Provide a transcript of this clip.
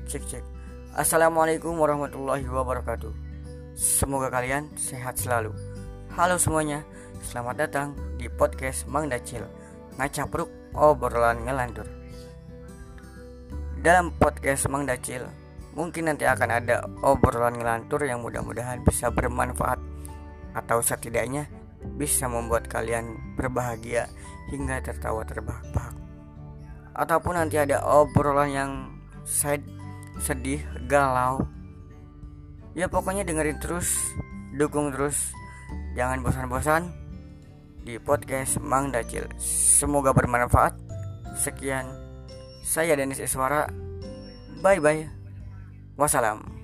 Cek. Assalamualaikum warahmatullahi wabarakatuh. Semoga kalian sehat selalu. Halo semuanya, selamat datang di podcast Mang Dacil, ngacapruk obrolan ngelantur. Dalam podcast Mang Dacil, mungkin nanti akan ada obrolan ngelantur yang mudah-mudahan bisa bermanfaat, atau setidaknya bisa membuat kalian berbahagia hingga tertawa terbahak-bahak. Ataupun nanti ada obrolan yang sedih, galau. Ya pokoknya dengerin terus, dukung terus, jangan bosan-bosan di podcast Mang Dacil. Semoga bermanfaat. Sekian, saya Denis Iswara. Bye bye. Wassalam.